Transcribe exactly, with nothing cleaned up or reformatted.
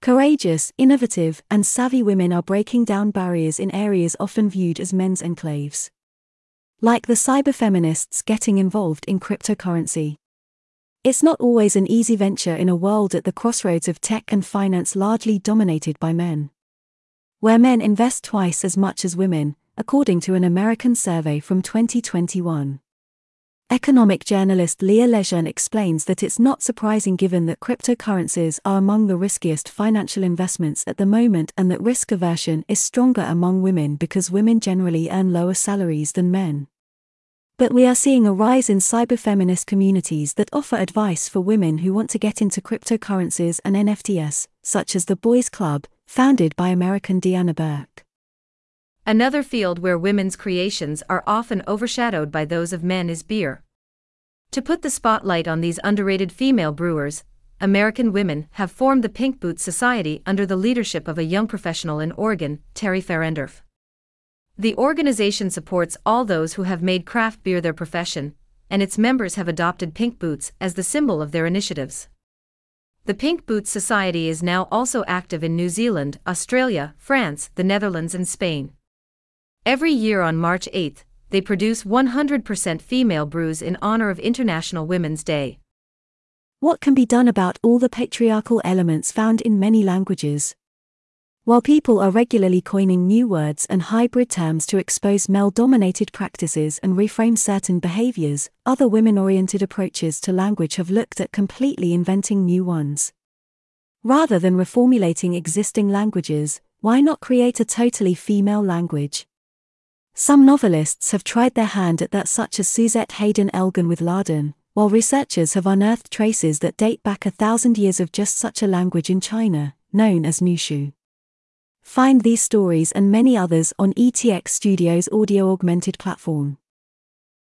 Courageous, innovative, and savvy women are breaking down barriers in areas often viewed as men's enclaves. Like the cyberfeminists getting involved in cryptocurrency. It's not always an easy venture in a world at the crossroads of tech and finance largely dominated by men. Where men invest twice as much as women, according to an American survey from twenty twenty-one. Economic journalist Leah Lejeune explains that it's not surprising given that cryptocurrencies are among the riskiest financial investments at the moment and that risk aversion is stronger among women because women generally earn lower salaries than men. But we are seeing a rise in cyberfeminist communities that offer advice for women who want to get into cryptocurrencies and N F Ts, such as the Boys Club, founded by American Deanna Burke. Another field where women's creations are often overshadowed by those of men is beer. To put the spotlight on these underrated female brewers, American women have formed the Pink Boots Society under the leadership of a young professional in Oregon, Terry Ferendorf. The organization supports all those who have made craft beer their profession, and its members have adopted pink boots as the symbol of their initiatives. The Pink Boots Society is now also active in New Zealand, Australia, France, the Netherlands, and Spain. Every year on March eighth, they produce one hundred percent female brews in honor of International Women's Day. What can be done about all the patriarchal elements found in many languages? While people are regularly coining new words and hybrid terms to expose male-dominated practices and reframe certain behaviors, other women-oriented approaches to language have looked at completely inventing new ones. Rather than reformulating existing languages, why not create a totally female language? Some novelists have tried their hand at that, such as Suzette Haden Elgin with Laden, while researchers have unearthed traces that date back a thousand years of just such a language in China, known as Nushu. Find these stories and many others on E T X Studios' audio-augmented platform.